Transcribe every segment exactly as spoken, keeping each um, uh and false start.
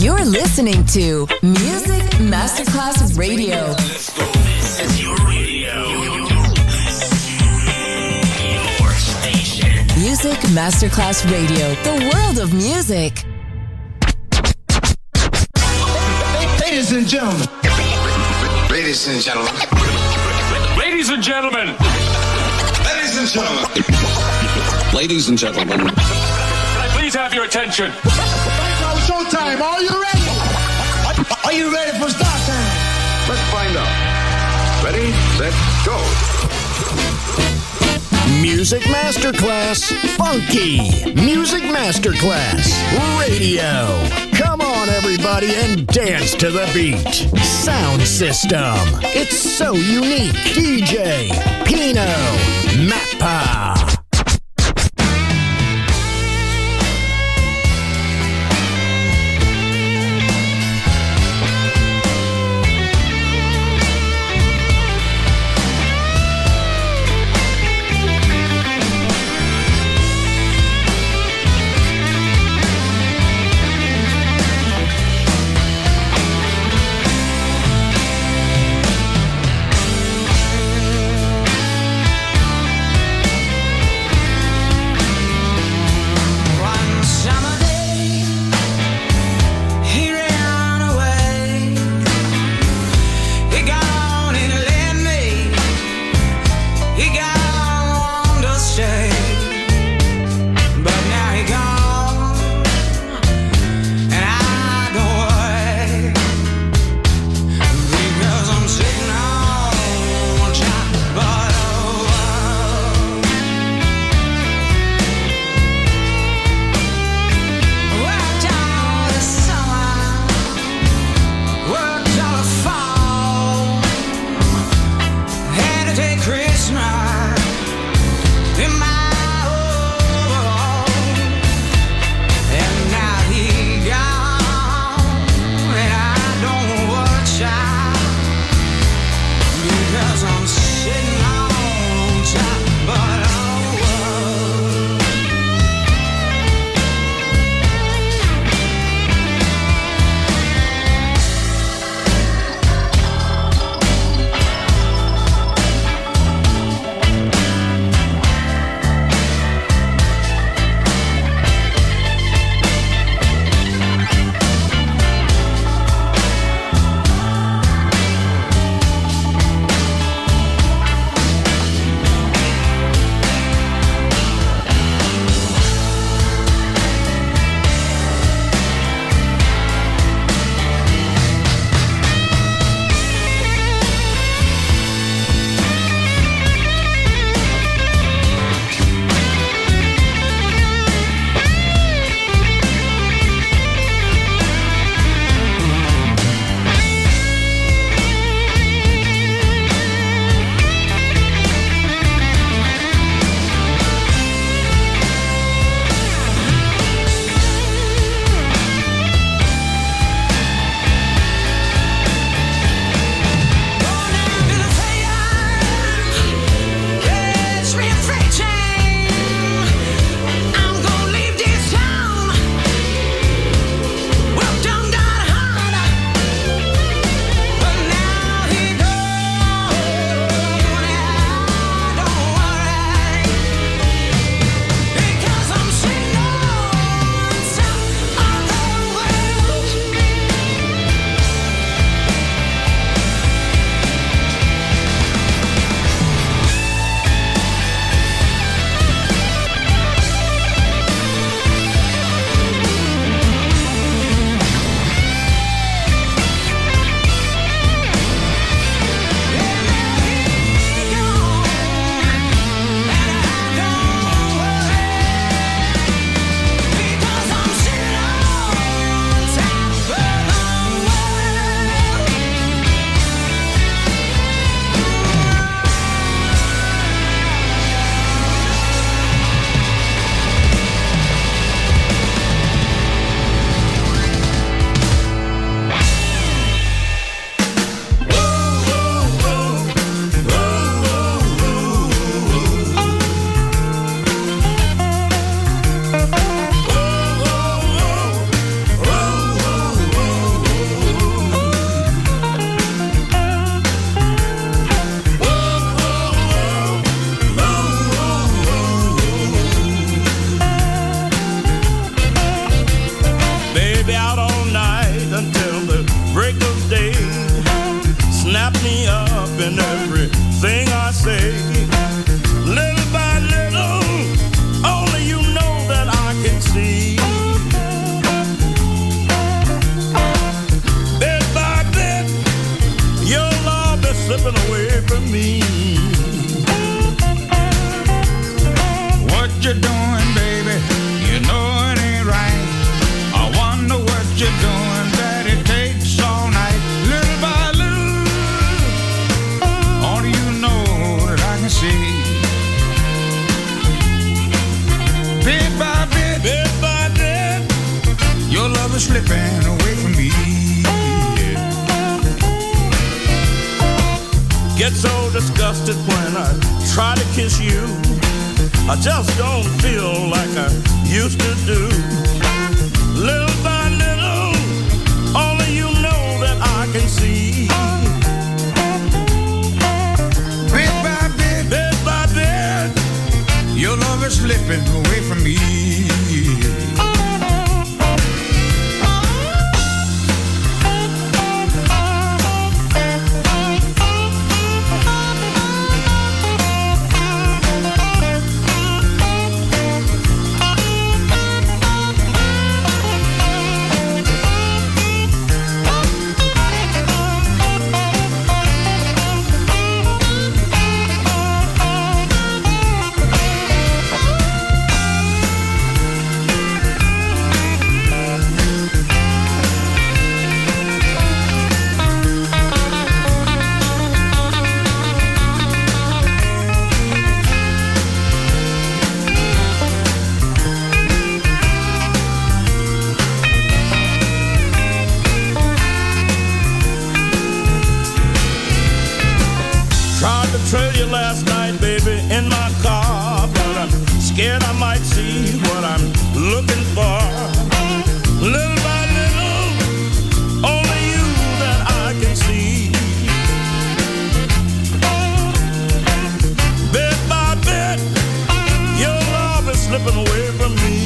You're listening to Music Masterclass Radio. Let's go. This is your radio. Your station. Music Masterclass Radio. The world of music. Ladies and gentlemen. Ladies and gentlemen. Ladies and gentlemen. Ladies and gentlemen. Ladies and gentlemen. Can I please have your attention? It's showtime. Are you ready? Are you ready for start time? Let's find out. Ready, set, go. Music Masterclass Funky. Music Masterclass Radio. Come on, everybody, and dance to the beat. Sound system. It's so unique. D J Pino Mappa. slipping away from me. Get so disgusted when I try to kiss you. I just don't feel like I used to do. Little by little, only you know that I can see. Bit by bit, bit by bit, your love is slipping away from me. Trail you last night, baby, in my car, but I'm scared I might see what I'm looking for. Little by little, only you that I can see. Bit by bit, your love is slipping away from me.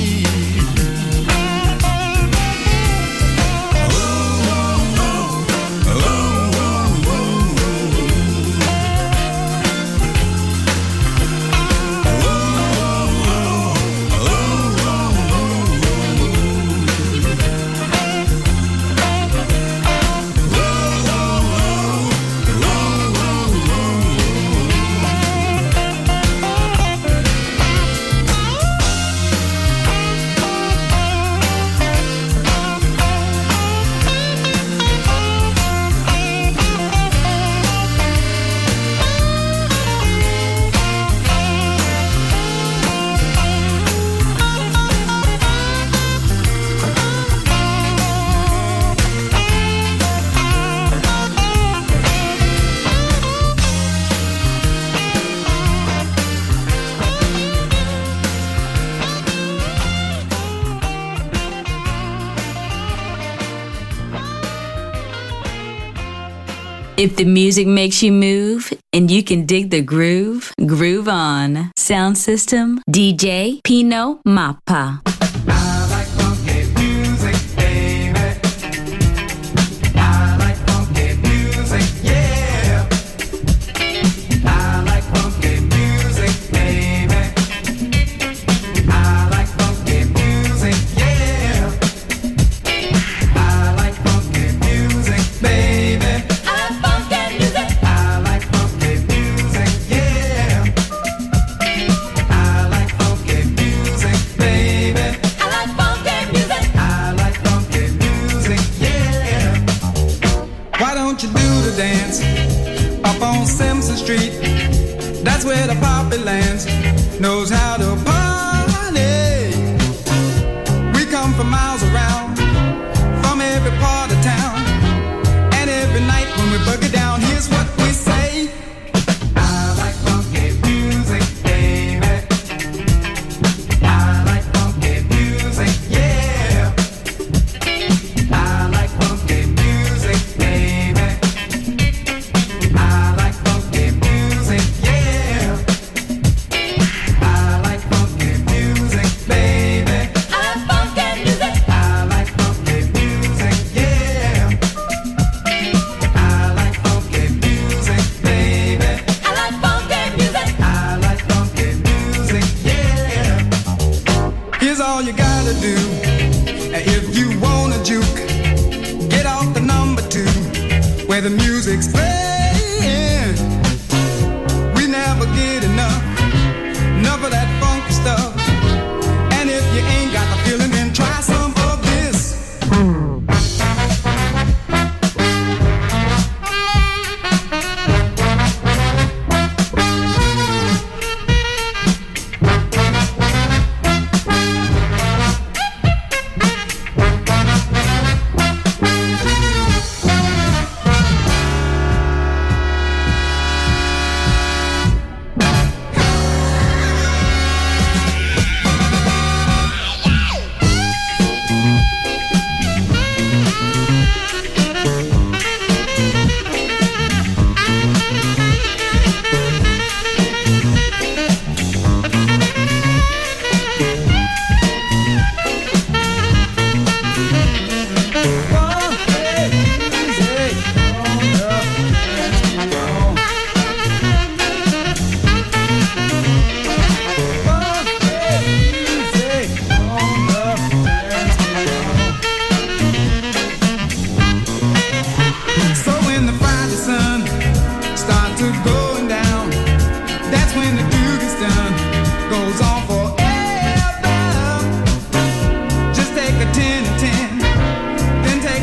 If the music makes you move and you can dig the groove, groove on. Sound system, D J Pino Mappa. That's where the poppy lands, knows how to party. We come from miles around, from every part of town, and every night when we bug it down, here's what we say. I like funky music, baby. I like funky music, yeah. I like funky music, baby. I like funky music, yeah. I like funky music, baby. I like funky music. I like funky music, yeah. I like funky music, baby. I like funky music. I like funky music, yeah. Here's all you gotta do. If you wanna juke, get off the number two, where the music's playing. We never get enough, enough of that funky stuff. And if you ain't got the feeling, then try some of this. Goes on forever. Just take a ten and ten, then take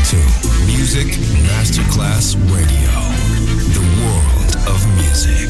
to Music Masterclass Radio, the world of music.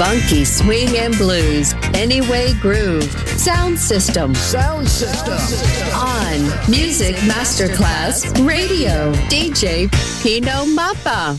Funky swing and blues. Anyway Groove. Sound System. Sound System. On Music Masterclass Radio. D J Pino Mappa.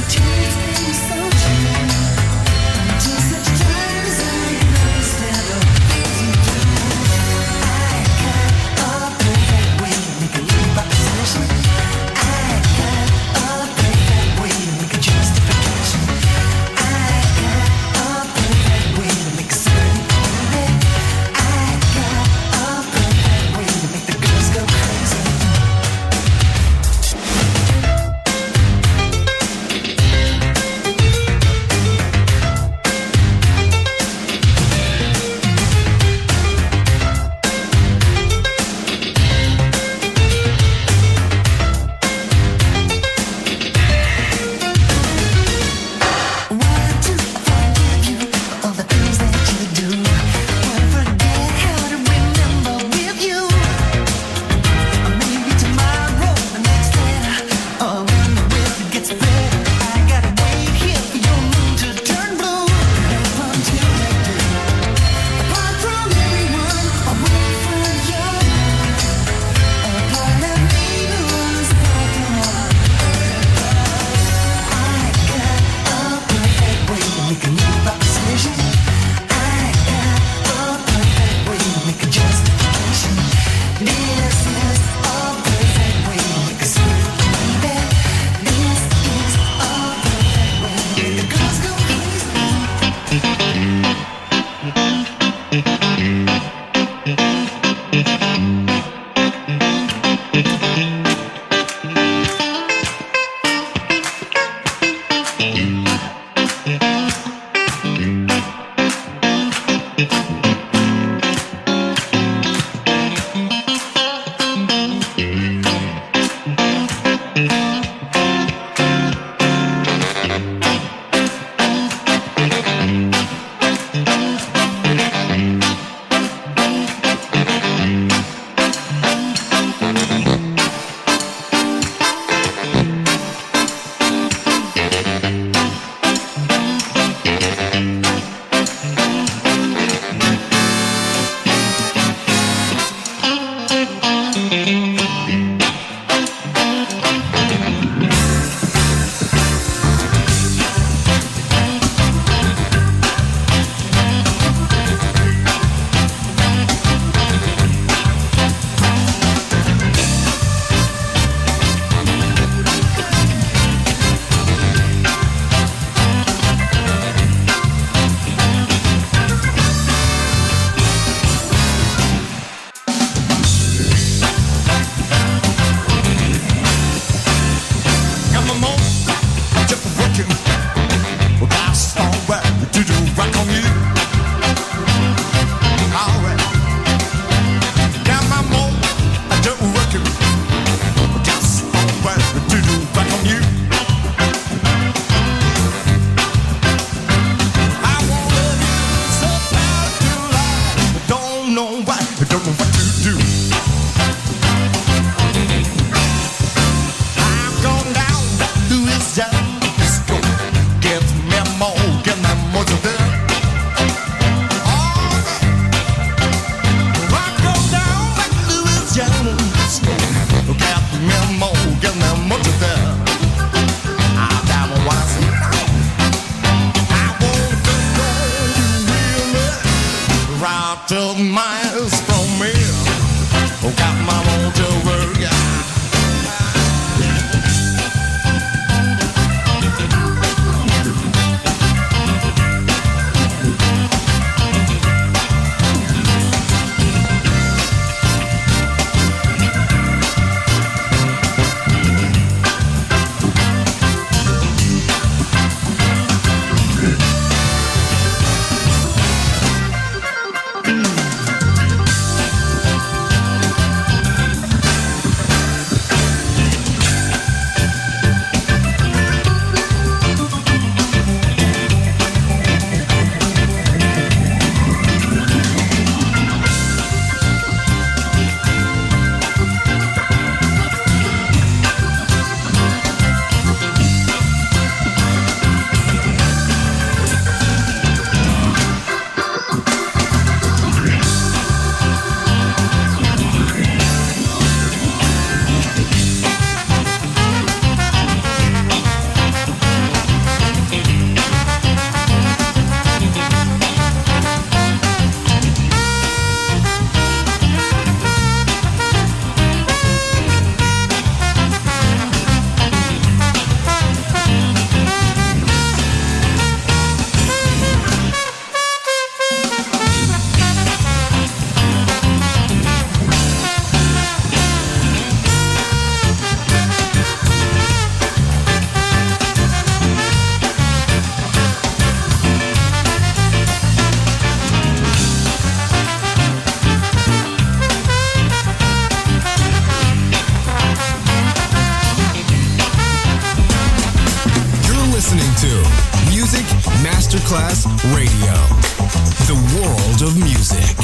Instead of about twelve miles from me. Oh, got my motor work. Masterclass Radio, the world of music.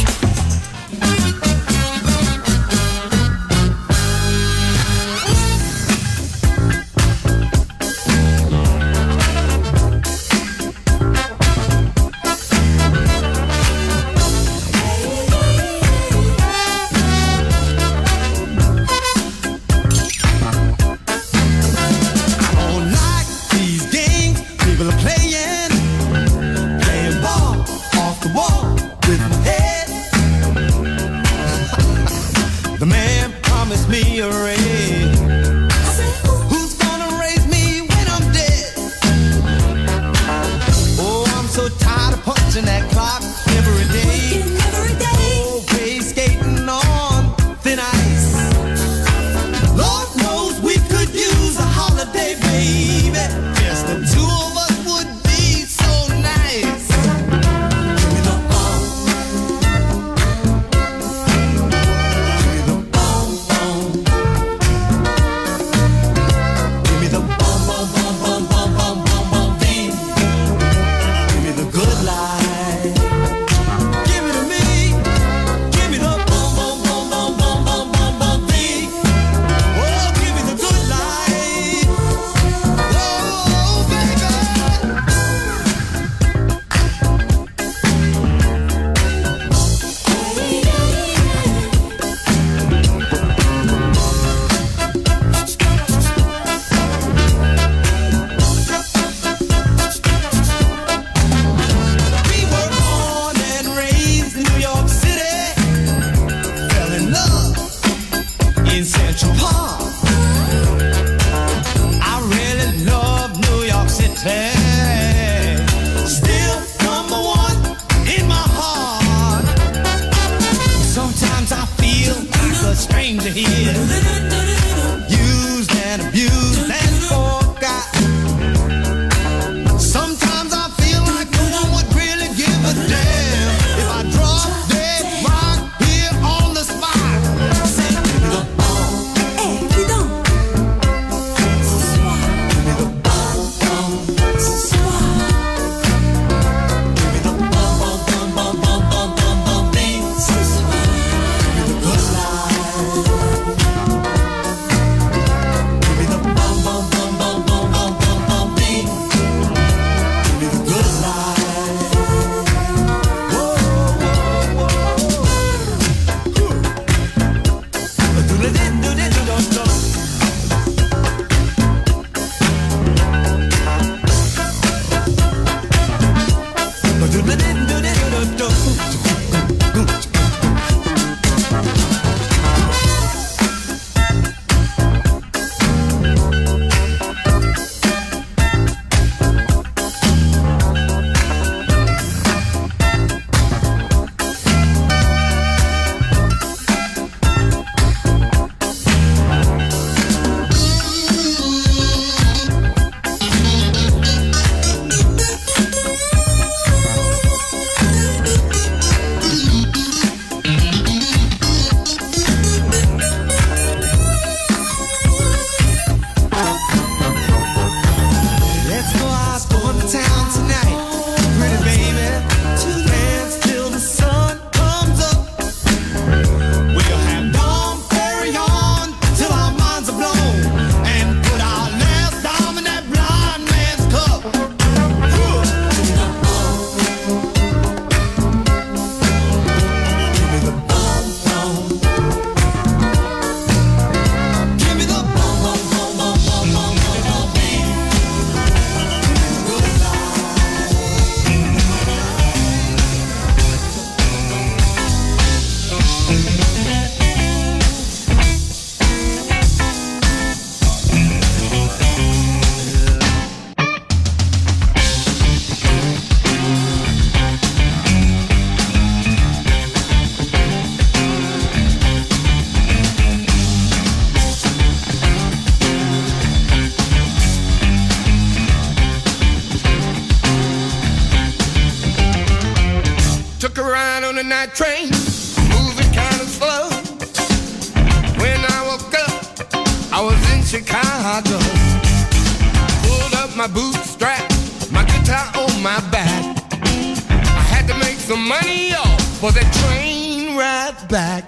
Good life. took a ride on the night train, moving kind of slow. When I woke up, I was in Chicago. Pulled up my bootstrap, my guitar on my back. I had to make some money off for the train ride back.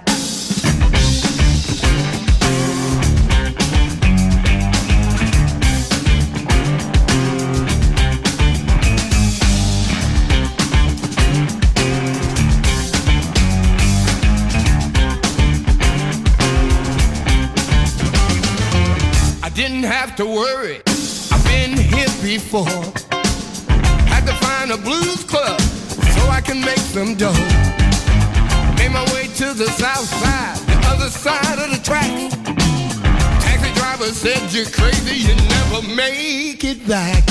Didn't have to worry, I've been here before. Had to find a blues club so I can make some dough. Made my way to the south side, the other side of the track. Taxi driver said, you're crazy, you never make it back.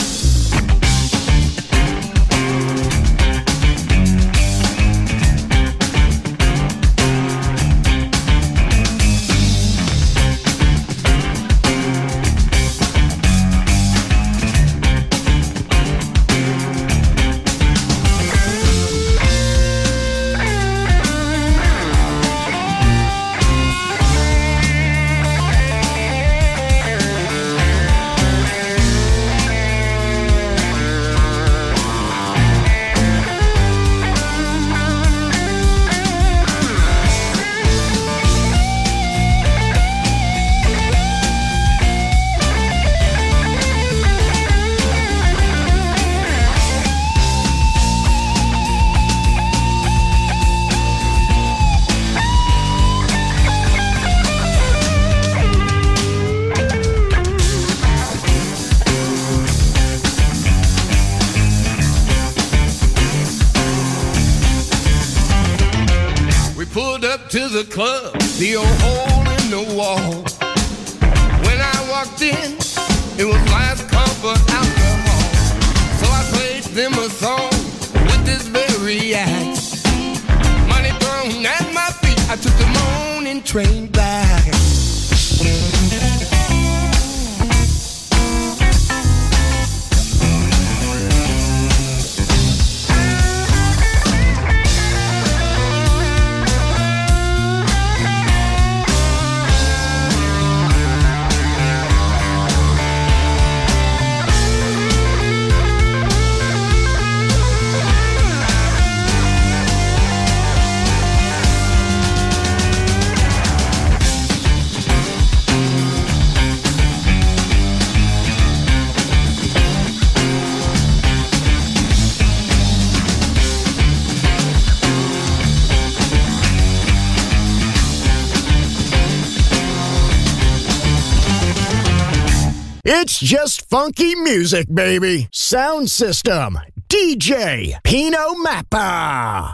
To the club, the old hole in the wall. When I walked in, it was last call for alcohol. So I played them a song with this very act. Money thrown at my feet, I took the morning train back. It's just funky music, baby. Sound System, D J Pino Mappa.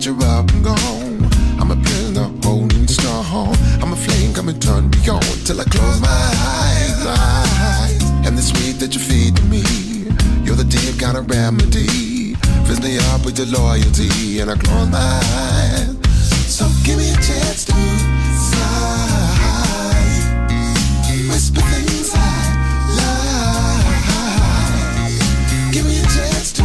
that you're up and gone. I'm a prisoner holding strong. I'm a flame coming turn me on till I close my eyes, eyes. And the sweet that you feed to me, you're the deep kind of remedy. Fills me up with your loyalty and I close my eyes. So give me a chance to sigh, whisper things I like. Give me a chance to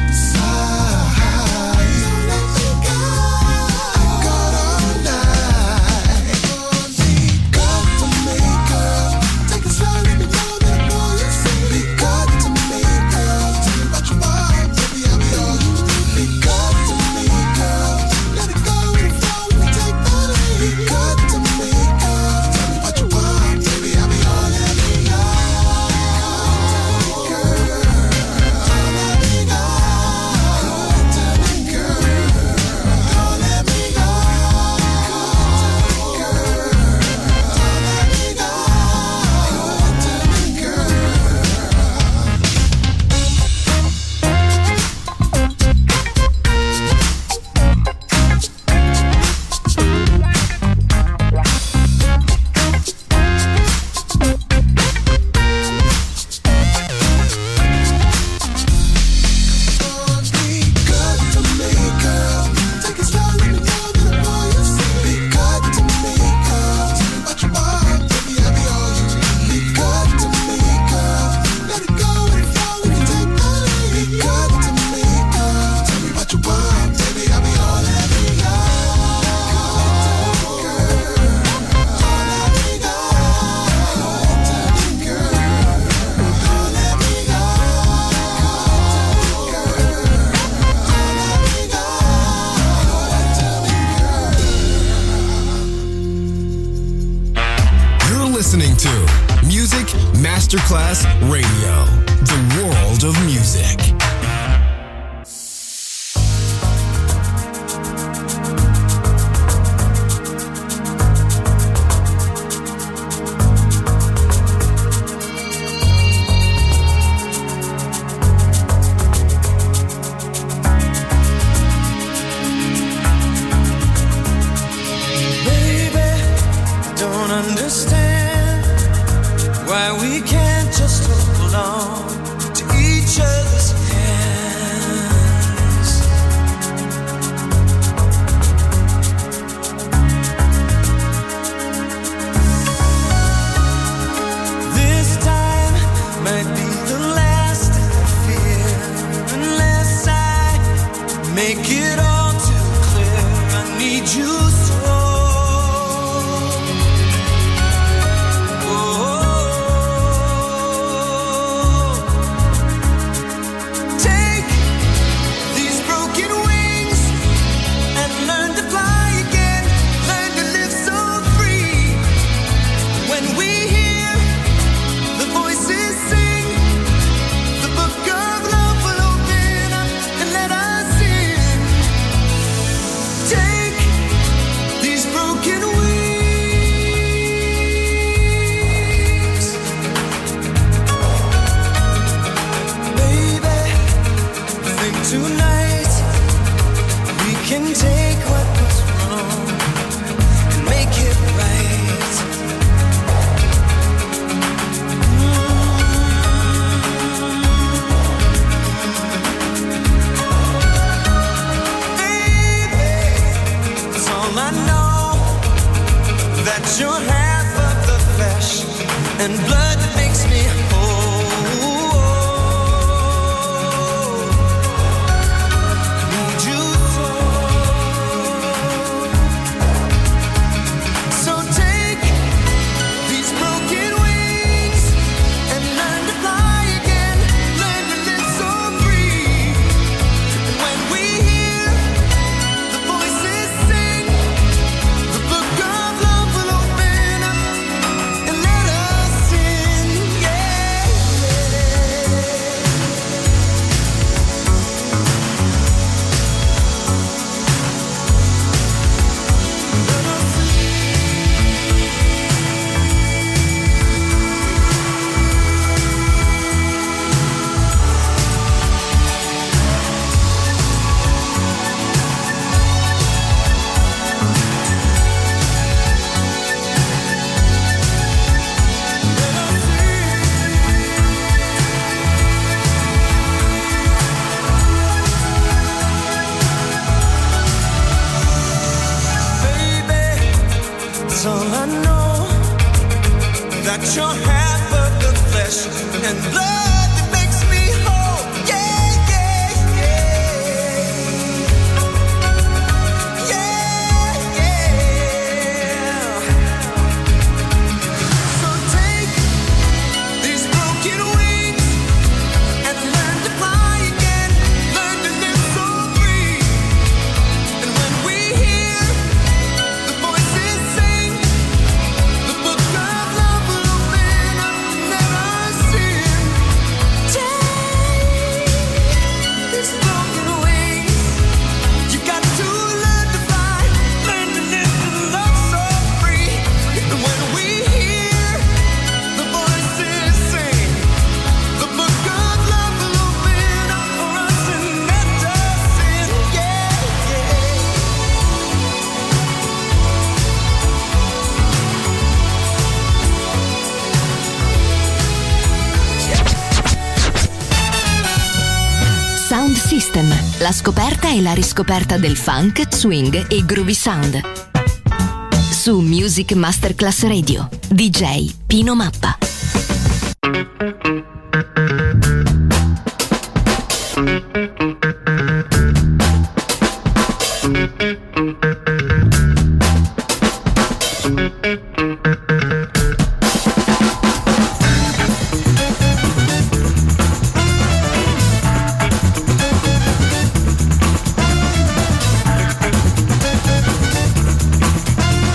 Masterclass Radio, the world of music. Let us sing. got your half of the flesh and blood that makes me whole. Yeah, yeah, yeah. Yeah, yeah. So take these broken wings and learn to fly again. Learn to live so free. And when we hear the voices sing, the book of love will open up and let us in. Take these broken wings. You got to learn to fly, learn to live and love so free. And when we hear the voices sing, the book of love will open up for us and let us in. Yeah, yeah. Sound System, la scoperta e la riscoperta del funk, swing e groovy sound. Su Music Masterclass Radio, D J Pino Mappa.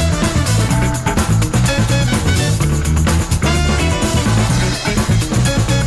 Yeah.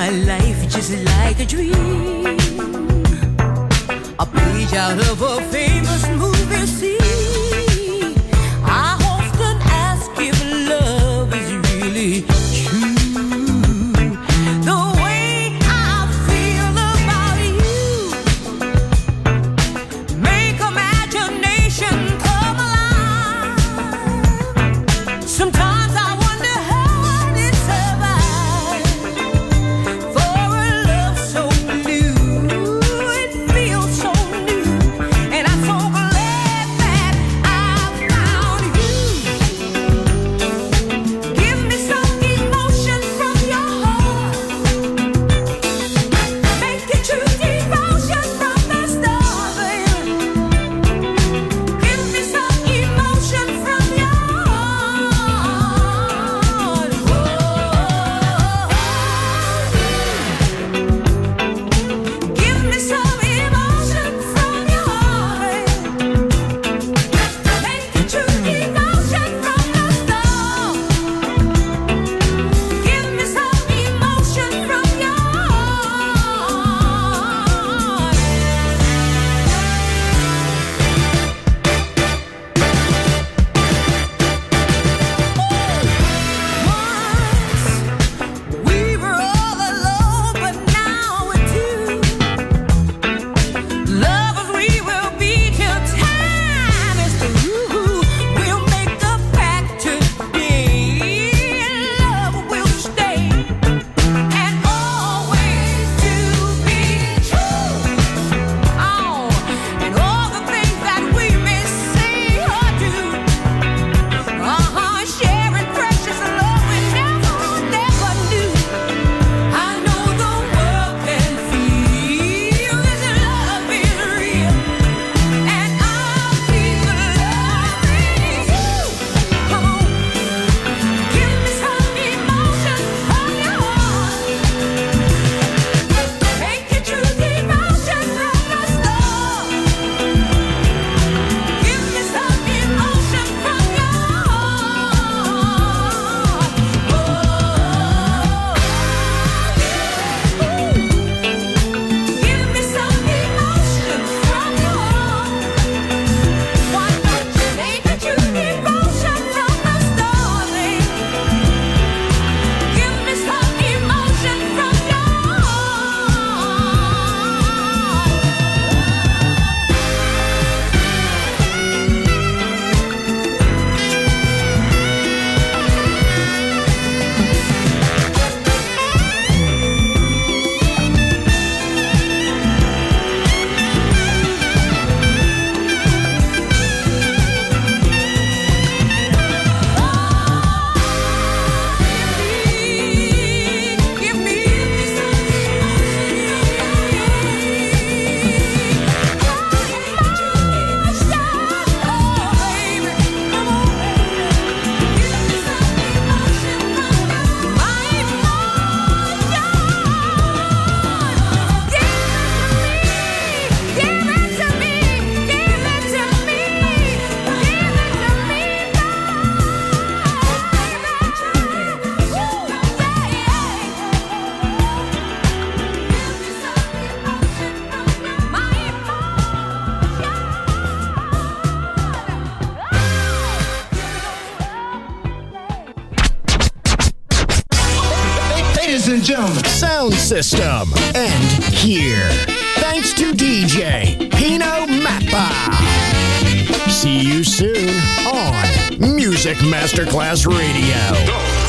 my life just like a dream, a page out of a famous movie scene. I often ask if love is really true. The way I feel about you make imagination come alive. Sometimes I wonder how I did survive for a love so blue. It feels so new, and I'm so glad that I found you. Give me some emotion from your heart. Make it true devotion from the start. Give me some emotion from your heart. Give me some emotion from your heart. Make it true devotion from the start. Give me some emotion from your heart. We were all alone, but now we're two. Lovers we will be till time is through. We'll make the pact today, love will stay, and always to be true. Oh, and all the things that we may say or do. Uh-huh, sharing precious love we never, never knew. I know the world can feel this love is real, and I'll keep loving you. Come on, give me some emotion from your heart. Make it true devotion from the start. Give me some emotion from your heart. Give me some emotion from your heart. Why don't you make it true devotion from the start, babe? Give me some emotion from your Give me some Ladies and gentlemen, Sound System. And here, thanks to D J Pino Mappa. See you soon on Music Masterclass Radio.